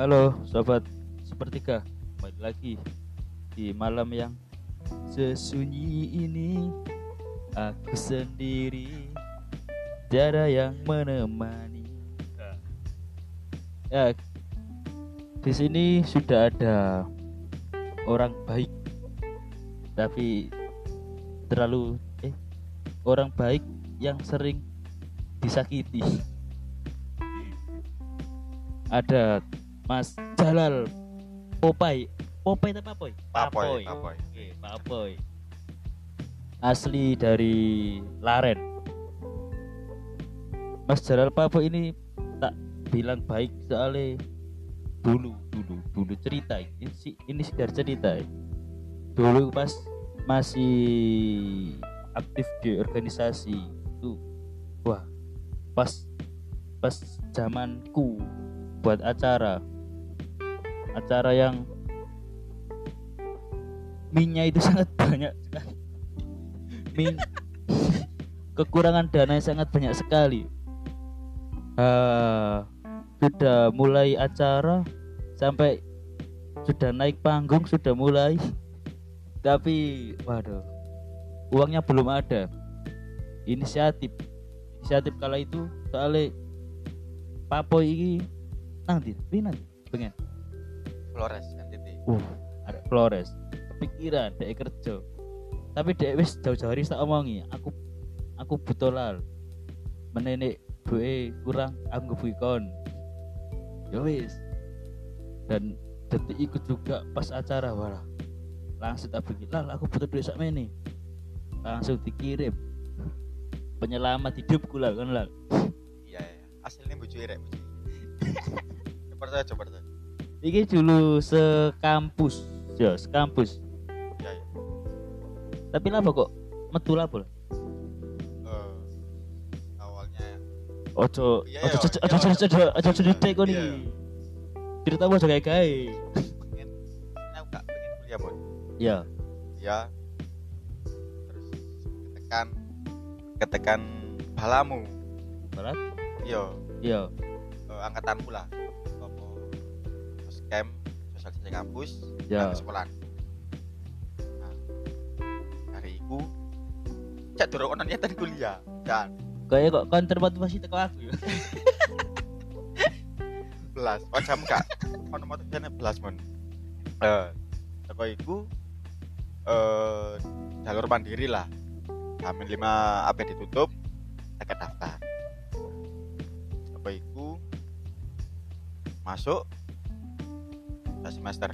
Halo sobat sepertiga, kembali lagi di malam yang sesunyi ini. Aku sendiri, tiada yang menemani. Ya, di sini sudah ada orang baik, tapi terlalu orang baik yang sering disakiti. Ada Mas Jalal Popai. Popai apa Poy? Papoy. Oke, Papoy. Asli dari Laren. Mas Jalal Papoy ini tak bilang baik soalnya dulu cerita ini sekedar cerita. Dulu pas masih aktif di organisasi itu, wah, pas zamanku buat acara yang minyak itu sangat banyak sekali. Kekurangan dana yang sangat banyak sekali. Sudah mulai acara sampai sudah naik panggung, sudah mulai, tapi waduh, uangnya belum ada. Inisiatif kala itu soalnya Papoy ini nanti pengen Flores NTT. ada Flores kepikiran dek kerja, tapi dek wis jauh-jauh hari tak omongi aku butuh lal menenek duwe kurang, aku ngebukon ya wis. Dan detik ikut juga pas acara, wala langsung tak bikin lal aku butuh duit sak mene, langsung dikirim penyelamat hidupku lah kan lal. Iya. Aslinya bojo irek bojo. Coba. Iki dulu sekampus. Ya. Tapi lah kok metu lah bol. Awalnya Ojo Iya, cerita kok iya. nih. Cerita aja kayak pengen kuliah, Bon. Ya. Ya. Terus ketekan balamu. Barat? Iya. Angkatanmu lah. Apa scam sosialisasi kampus Ya. nang sekolah. Nah, hari iku cak durung ono niatan kuliah. Dan Kayak kok kon termotivasi teko aku ya. belas macam kak ono motivasinya belas mon. Teko iku jalur mandiri lah. Hamin 5 apa ditutup tak daftar. Teko iku masuk semester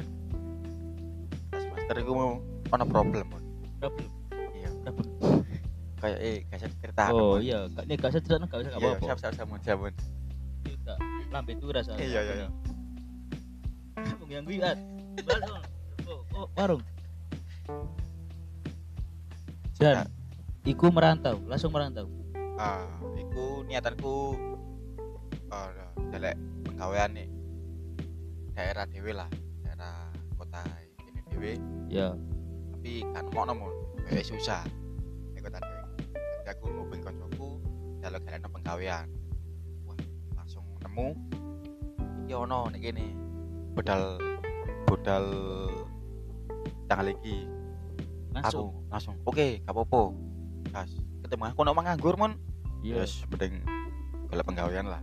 iku ono problem mon. Problem. Iya. Kayak gak cerita. Oh iya, nek gak usah cerita gak usah Iya, apa-apa. siap mon. Kita lambe turas. Iya. Wong yang kuwi balik. Oh, warung. Dan iku langsung merantau. Iku niatanku delek penggawean nih daerah dhewe lah, daerah kota ini dhewe. Ya. Tapi kan mono mon, susah. Nek kota dhewe. Jadi aku ngubung koncoku jaluk galeno penggawean. Wah, langsung nemu iki ono nek kene. Bodal tanggal iki. Aku langsung oke, gak apa-apa. Gas, ketemu aku ono nganggur mon. Iya. Yes, penting golek penggawean lah.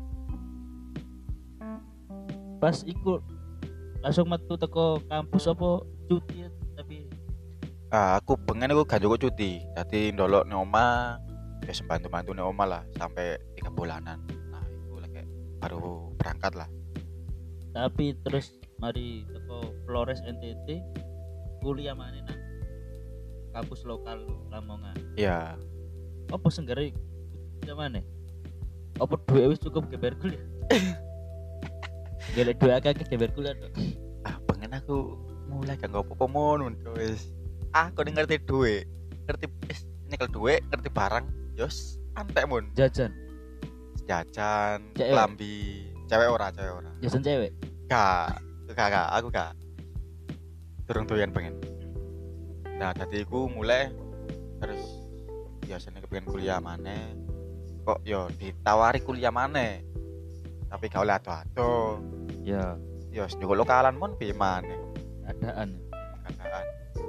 Pas iku langsung metu teko kampus apa cuti tapi Aku pengen aku gak cukup cuti. Dadi ndolok nang omah, ya bantu-bantu nang omah lah sampai 3 bulanan. Nah, itu lagi baru berangkat lah. tapi terus mari teko Flores NTT kuliah mana nang kampus lokal Lamongan. Iya. Apa senggare mana? Apa duit wis cukup geber kuliah? Gelek duit akeh geber kuliah tok. Pengen aku mulai gak ngopo-opo mon wis. Aku ngerti duit, ngerti nyekel duit, ngerti barang, yos antek mon. Jajan Cewek. Klambi, cewek ora. jajan cewek. Gak, aku gak. Durung doyan pengen. Nah, tadi aku mulai terus biasanya kepengen kuliah maneh. Kok yo ditawari kuliah maneh. Tapi gak oleh ado-ado. Ya. Ya njoko lokalan mon piye maneh. keadaan. Keadaan.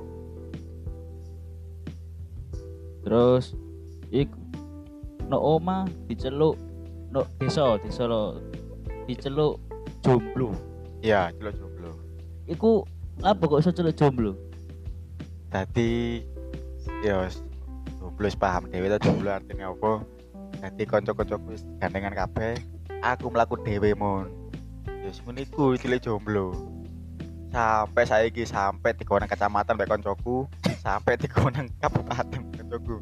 Terus iku no oma diceluk no desa lo diceluk jomblo. Iya, celuk jomblo. Iku apa kok iso celuk jomblo? Dadi ya jomblo wis paham dhewe ta jomblo artine apa. Dadi kanca-kancaku wis gandengan kabeh, aku mlaku dhewe mon. Ya wis ngene iku cilik jomblo. Sampai saiki sampai digowo nang kecamatan mbek kancaku, sampai digowo nang kabupaten kancaku.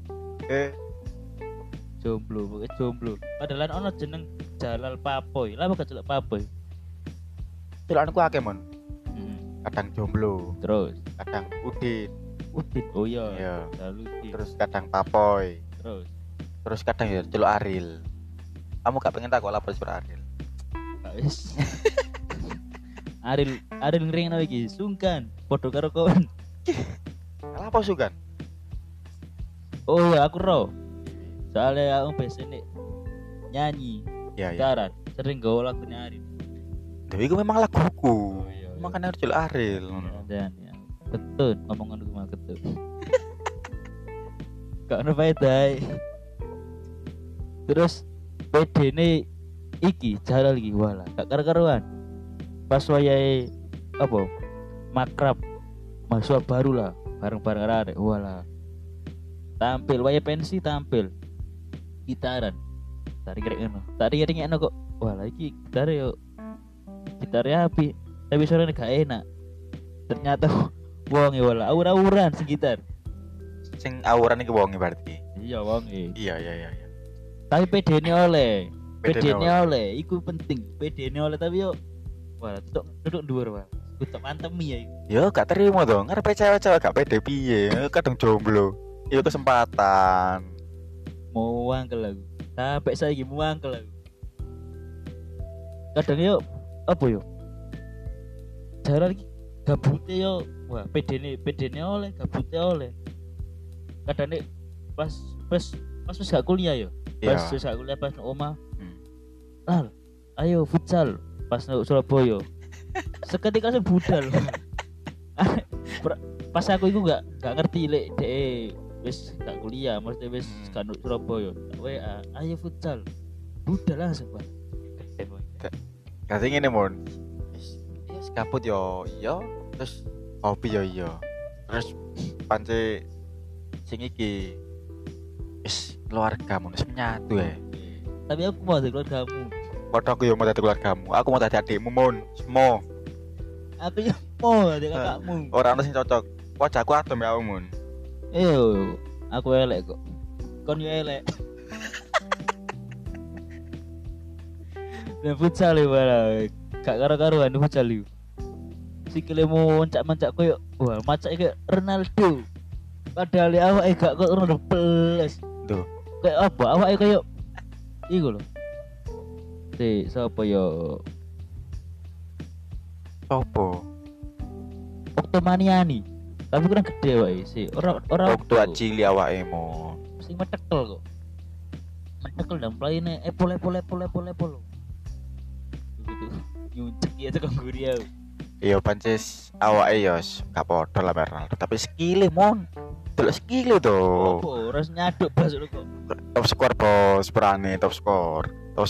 Jomblo, pokoknya jomblo. Padahal ono jeneng Jalal Papoy. Lah kok celuk Papoy? Celukanku akeh mon. Kadang jomblo, Terus kadang udin, Udin. Oh iya. iya. Lalu Terus kadang papoy, terus kadang ya celuk Aril. Kamu gak pengen tak kok lapor celuk Aril? gak wis. Aril ngringno iki sungkan padha karo kon. Lah apa sukan? Oh iya aku ro. Soalnya aku biasanya nyanyi, Ya ya. gitaran, sering gawe lagunya Aril. Dewi itu memang laguku. iya. Makanya harus celuk Aril. Dan ya, betul ngomongan gue mah betul. Gak ono faedah. Terus PD ini iki Jalal iki wala gak karo-karuan. Pas wayahe apa? Makrab mahasiswa baru lah, bareng-bareng arek wala. Tampil wayahe pensi tampil. Gitaran. Tari kering kok. Wala iki gitar yo. Gitarnya api, tapi suaranya gak enak. Ternyata wong e wala aur-auran sing gitar. Sing awuran iki wonge berarti. Iya wong e. Iya. Tapi PD-ne oleh. PD-ne PD-ne oleh, iku penting. PD-ne oleh tapi yo wah, duduk dhuwur wae. Kutuk mantemi ya iku. Yo gak terima dong. Ngarepe cewek-cewek gak pede piye. Kadang jomblo. Yo kesempatan. Mau wangkel aku. Sampai saiki mau wangkel aku. Kadang yo apa yo? Jalan iki gabute yo. Wah, PD-ne oleh, gabute oleh. Kadang nek pas gak kuliah yo. Pas Iya. gak kuliah pas nang omah. Lal, ayo futsal pas nang Surabaya. Seketika saya budal. Pas aku iku gak ngerti lek dhek wis gak kuliah, mesti wis gak nang Surabaya. WA, ayo futsal. Budal langsung, Pak. Dadi ngene mon. Wis kabut yo iya, terus hobi yo iya. Terus pance sing iki wis keluarga mon wis menyatu ya. Tapi aku mau dari keluargamu. Padha aku yo mau dadi keluargamu. Aku mau dadi adikmu mon. Semua. Aku ya mau dari kakakmu. Ora ono sing cocok. Wajahku adem ya mon. Aku elek kok. Kon yo elek. Dan futsal ya malah gak karo-karuan futsal yo. Sikile mau mencak-mencak koyo wah macak kayak Ronaldo. Padahal awake gak kok Ronaldo plus. Tuh. Kayak apa? Awake koyo iku lho. Sapa yo? Sopo? Oktomaniani. Tapi kurang gede wae sih. Ora Waktu cili awake mon. sing metekel kok. Metekel dan playne epol. Gitu. Nyucek ya tekan guri aku. Iya pances awake yo gak padha lah Ronaldo, tapi skile mon. Delok skile to. Oh, ora nyaduk bas lho kok. Top skor bos, berani top skor.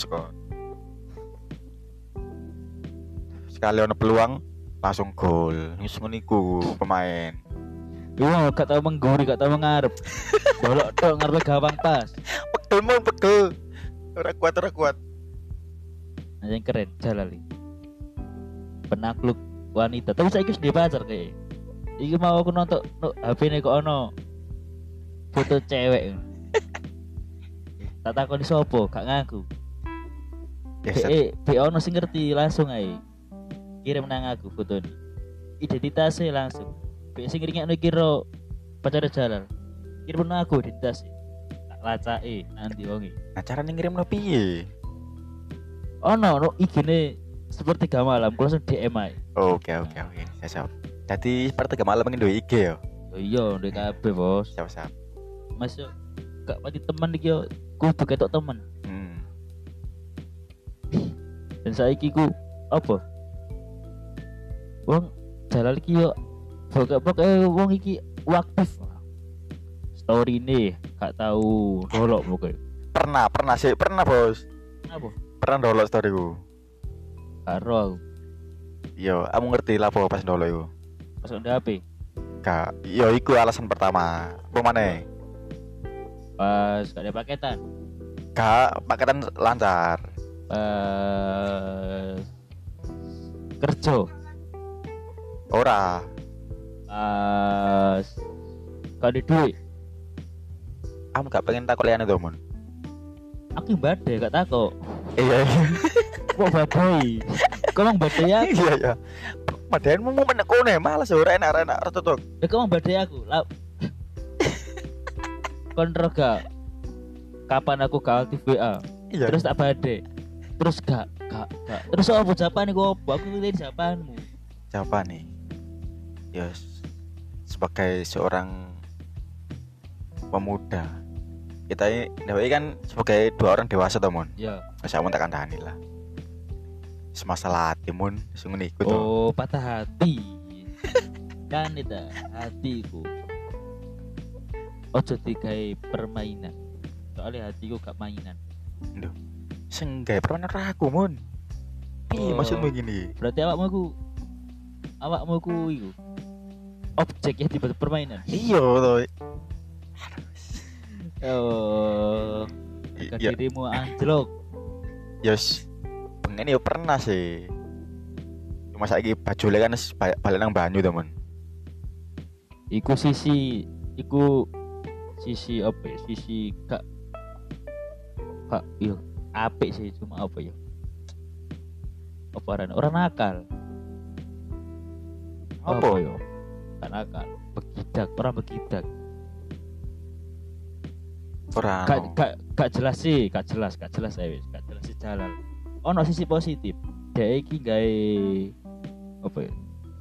Sekali ono peluang langsung gol. Wis ngono iku pemain. Wah, gak tau mengguri, gak tau mengarep. Bolok tok ngarepe gawang pas. Pegel. Ora kuat. Nah, yang keren Jalali. Penakluk wanita. Tapi saiki wis duwe pacar kayak. Iki mau aku nonton HP-ne kok ono foto cewek. Tak takoni sapa, gak ngaku. Ya Be ono sing ngerti langsung ae. Kirim nang aku foto ini. Identitasnya langsung. Be sing ngringekno kira pacar Jalal. Kirim nang aku identitasnya. Tak lacake nanti wonge. nah carane ngirimno piye? Ono IG-ne seperti malam, aku langsung DM ae. Oke. Siap. Jadi seperti malam pengen duwe IG ya. Oh iya, ndek kabeh, Bos. Siap. Mas yo gak pati teman iki yo kudu ketok temen. Dan saiki ku apa? Wong jalan iki yo pokok wong iki aktif. Story ini gak tahu dolok pokoknya. Pernah bos. Apa? Pernah dolok storyku. Karo aku Yo, kamu ngerti lah apa pas dolok iku. pas udah HP. Kak, yo iku alasan pertama. Apa maneh? Pas gak ada paketan. Kak, paketan lancar. Pas kerja. Ora. Pas gak ada duit. Kamu gak pengen takut liane to, Mon? Aku yang badai gak takut. Iya. Kok badai? Kau mang badai aku. Iya ya. Padahal mau menekone malas ora enak tutuk. Ya kau mang badai aku. Lah. Kontrol gak? Kapan aku gak aktif WA? Iya. Terus tak badai. Terus gak. Terus apa jawaban iku opo? Aku ngerti jawabanmu. Siapa nih? Yes. Sebagai seorang pemuda, kita ini kan sebagai dua orang dewasa toh, Mon. Ya. Masa mau tak kandhani lah. Semasalah hati, Mon, sing ngene iku to. Oh, patah hati. Kan itu hatiku. Ojo digawe permainan. Soalnya hatiku gak mainan. Lho. Sing gawe permainan aku, Mon. Piye Oh. maksudmu gini? Berarti awakmu ku iku objek yang dibuat permainan. Iya to. Oh, harga Iya, dirimu anjlok. yes. Pengen ya pernah sih. Cuma saiki bajule kan wis balik nang banyu to, Mon. Iku sisi apa ya? Sisi gak yo apik sih, cuma apa ya? Apa orang nakal. Apa? yo? Gak nakal, orang begidak. Ora. Gak jelas sih, gak jelas sih jalan. Ono sisi positif. Dhek iki gawe apa ya?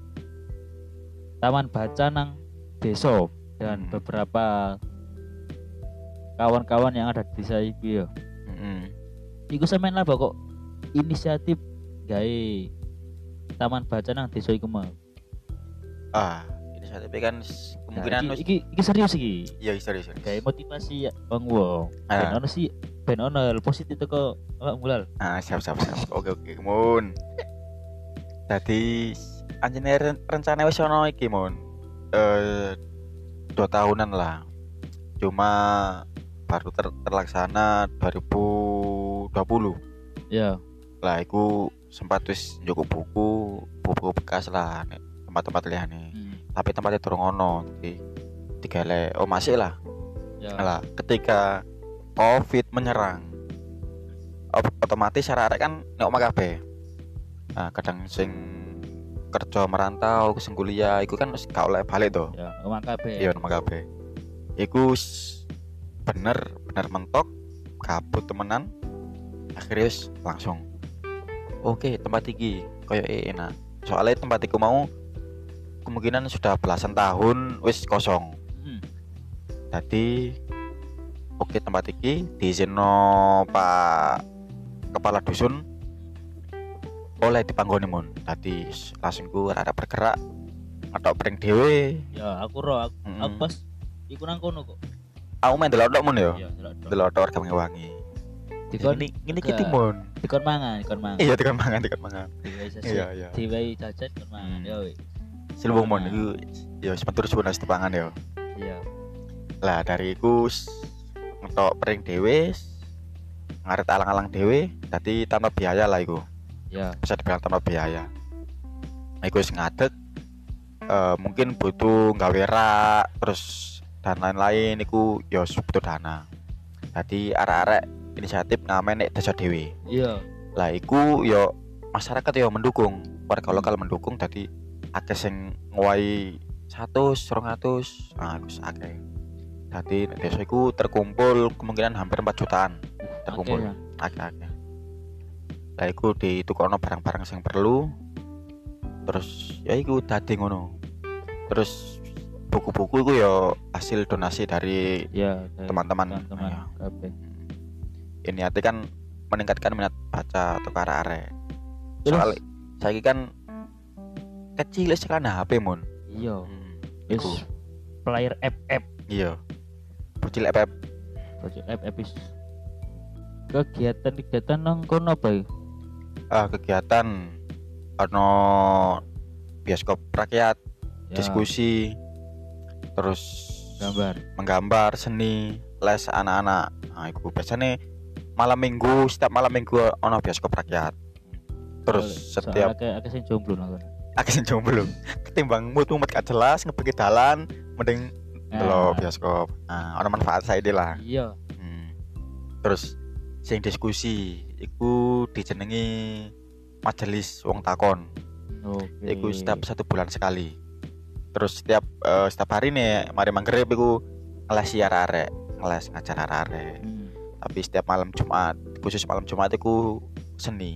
Taman baca nang desa dan beberapa kawan-kawan yang ada di desa iki yo. Heeh. Iku semen lah kok inisiatif gawe taman baca nang desa iku mau. Ah, inisiatif kan kemungkinan Nah, iki serius iki. iya serius. Gawe motivasi wong. Ah. Ben ono hal positif teko awak mulal. Ah, siap. Oke, Mun. Tadi anjene rencana wis ono iki, Mun. 2 tahunan lah. Cuma baru terlaksana 2020. Ya. Lah iku sempat wis njuk buku bekas lah nek tempat-tempat liyane. Tapi tempatnya durung ono. Jadi digale masih lah. Ya. Lah, ketika Covid menyerang, otomatis arek-arek kan nek omah kabeh. Nah, kadang sing kerja merantau, sing kuliah iku kan wis gak oleh balik to. Ya, omah kabeh. Iya, omah kabeh. Iku bener mentok kabut temenan. Akhirnya wis langsung. Oke, tempat iki koyo enak. Soalnya tempat iku mau kemungkinan sudah belasan tahun wis kosong. Jadi oke tempat iki diizinno Pak Kepala Dusun oleh dipanggoni, Mun. Dadi langsung ku rada bergerak atau pring dhewe. Ya, aku pas iku nang kono kok. Aku main delok Mun yo. Ya, Delok warga Wangi. Dikon Ngene iki Mun. dikon mangan. Iya, dikon mangan. Iya. Diwai jajan dikon mangan ya wis. Silbung Mun iku yo sebentar suwun wis dipangan yo. Iya. Lah dari iku ngetok pring dhewe ngaret alang-alang dhewe dadi tanpa biaya lah iku. Ya. Bisa dibilang tanpa biaya. Nah, iku wis ngadeg mungkin butuh gawe rak terus dan lain-lain iku ya butuh dana. Jadi arek-arek inisiatif ngamen nek desa dhewe. Iya. Lah iku yo masyarakat yo mendukung, warga lokal mendukung dadi akeh sing ngowahi 100, 200, nah wis akeh. Dadi nek desa iku terkumpul kemungkinan hampir 4 jutaan terkumpul. Akeh. Lah iku ditukokno barang-barang sing perlu. Terus ya iku dadi ngono. Terus buku-buku iku ya hasil donasi dari teman-teman. Kabeh. Ini arti kan meningkatkan minat baca atau arek-arek. Terus? Soal saiki kan kecil sekali HP mon. Iya. Iku. Wis player FF. Iya. Bocil FF. Bocil FF wis. Kegiatan nang kono apa ya? Kegiatan ono bioskop rakyat, Ya, diskusi, terus gambar. seni, les anak-anak. Nah, iku biasanya setiap malam minggu ono bioskop rakyat. Terus setiap akeh sing jomblo nang kono. akeh sing jomblo. Ketimbang mumet gak jelas ngepikir dalan, mending delok bioskop. Nah, ono manfaat saiki lah. Iya. Terus sing diskusi iku dijenengi majelis wong takon. Oke. Iku setiap 1 bulan sekali. Terus setiap hari nih mari manggrib iku ngeles arek-arek, ngeles ngajar arek-arek. Tapi setiap malam Jumat, khusus malam Jumat iku seni.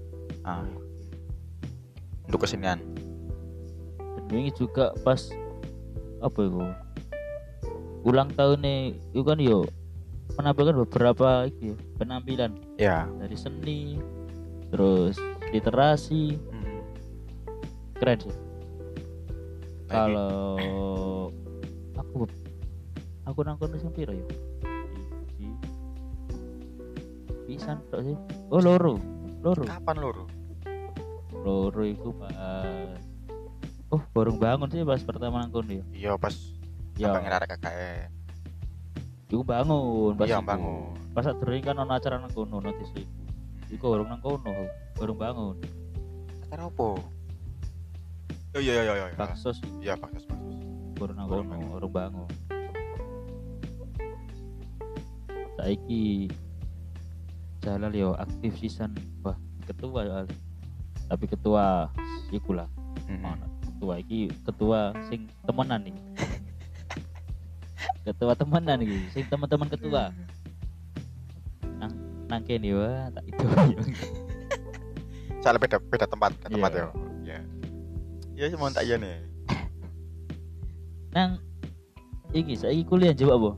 Untuk kesenian. Dan ini juga pas apa itu? Ulang tahun nih, itu kan yo menampilkan beberapa iki, penampilan. Ya. Dari seni, terus literasi. Keren sih. Kalau aku nangkon sing piro ya? Pisan tok sih. Oh, loro. Kapan loro? Loro iku pas baru bangun sih pas pertama nangkon ya. Iya, pas Ya. pengen arek KKN. Iku bangun pas Iya, iku. bangun. Pas sering kan ono acara nang kono notis iku. Iku baru nang kono, baru bangun. Acara opo? Oh iya. Baksos Iya, baksos. baru nang Baru kono, bangun. baru bangun. Saiki Jalal yo aktif sisan, wah ketua ya. Tapi ketua iku lah. Ono ketua iki ketua sing temenan nih. Ketua temenan iki, sing teman-teman ketua. Nang kene wah tak itu. Soalnya beda tempat Iya. ya. Iya. Ya sih mau tak iya nih. Nang iki saiki kuliah jawab apa?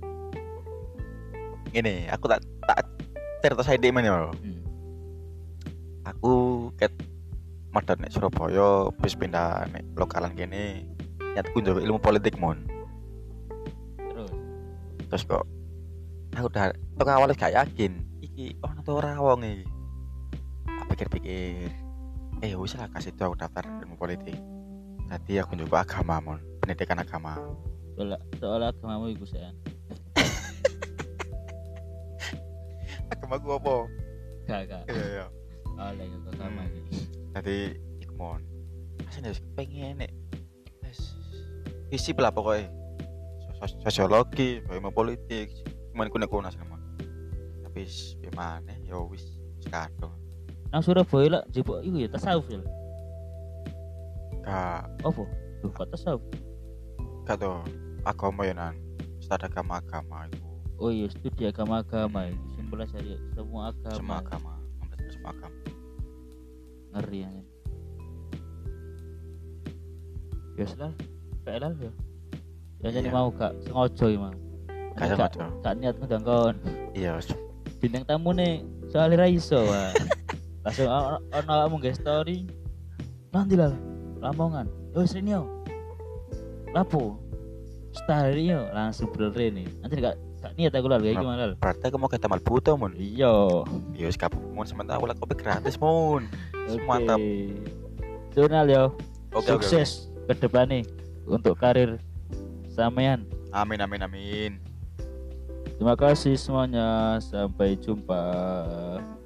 Ini aku tak cerita saya di mana ya. Aku ket medhot nek Surabaya bis pindah nek lokalan kene. Nyatku njogo ilmu politik mon. Terus kok aku udah tok awalnya gak yakin iki ono to ora wong iki. Tak pikir-pikir wis lah kasih tuh aku daftar ilmu politik. Tadi aku nyoba agama mon, pendidikan agama. Soal agamamu iku sen. Agama gua apa? Gak. Iya. Oleh ke agama iki. Tadi iku mon. Asine wis pengen nek isi lah pokoknya sosiologi, ilmu politik, cuman kuna sama. Tapi gimana? Ya wis sekado. Nang Surabaya lah jebok iku ya tasawuf ya. Gak Apa? Duh, kok tasawuf? tuh agama ya nan. Studi agama itu. Oh iya, studi agama-agama itu simpelnya semua agama. Semua agama, mempelajari semua agama. Ngeri ya. Ya selal, kayak ya. Ya jadi Iya. mau gak sengaja ya mau. Gak sengaja. Gak niat ngundang kon. Iya, Bintang tamu nih soalnya ra iso wah. Langsung ono kamu nge story. Nanti lah Lamongan. Yo Srinio. Lapo? Story yo langsung bener nih. Nanti gak niat aku lah kayak gimana lah. berarti aku mau ke Taman Buto mon. Iya. Iya, sekarang mon sementara aku kopi gratis mon. Mantap. Jurnal yo. Oke. Sukses ke depan nih untuk karir sampean. Amin. Terima kasih semuanya. Sampai jumpa.